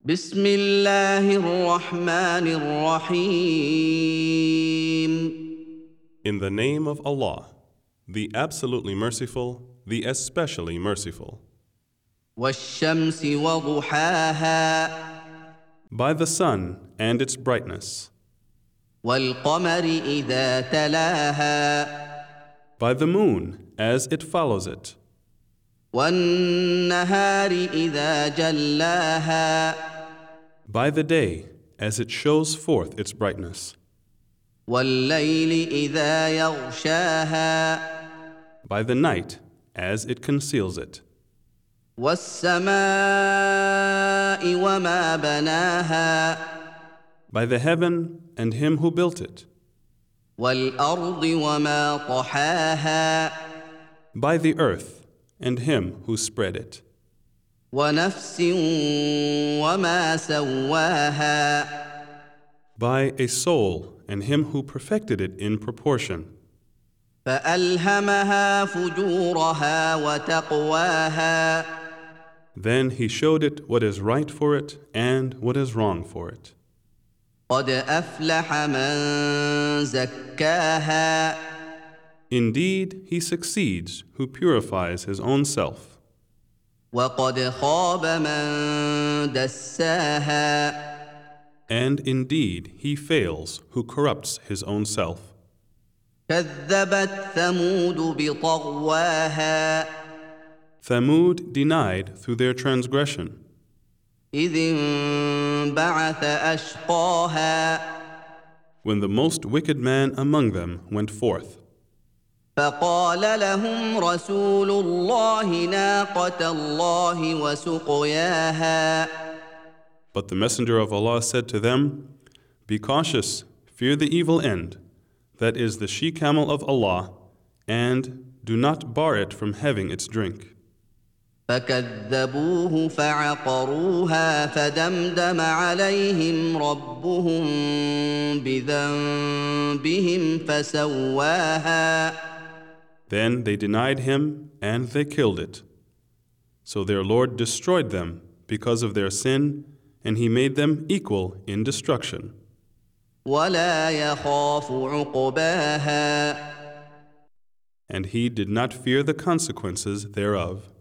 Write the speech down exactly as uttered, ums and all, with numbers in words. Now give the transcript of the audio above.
بسم الله الرحمن الرحيم. In the name of Allah, the absolutely merciful, the especially merciful. والشمس وضحاها By the sun and its brightness. والقمر إذا تلاها By the moon as it follows it. والنهار إذا جلاها By the day as it shows forth its brightness. والليل إذا يغشاها By the night as it conceals it. والسماء وما بناها By the heaven and him who built it. والأرض وما طحاها By the earth and him who spread it. ونفس وما سواها By a soul and him who perfected it in proportion. فألهمها فجورها وتقواها Then he showed it what is right for it and what is wrong for it. قد أفلح من زكاها Indeed, he succeeds who purifies his own self. وقد خاب من دساها And indeed, he fails who corrupts his own self. كذبت ثمود بطغواها Thamud denied through their transgression. إذ انبعث أشقاها When the most wicked man among them went forth. فقال لهم رسول الله ناقة الله وسقياها But the Messenger of Allah said to them, Be cautious, fear the evil end, that is the she-camel of Allah, and do not bar it from having its drink. فكذبوه فعقروها فدمدم عليهم ربهم بذنبهم فسواها Then they denied him and they killed it. So their Lord destroyed them because of their sin, and he made them equal in destruction. ولا يخاف عقباها And he did not fear the consequences thereof.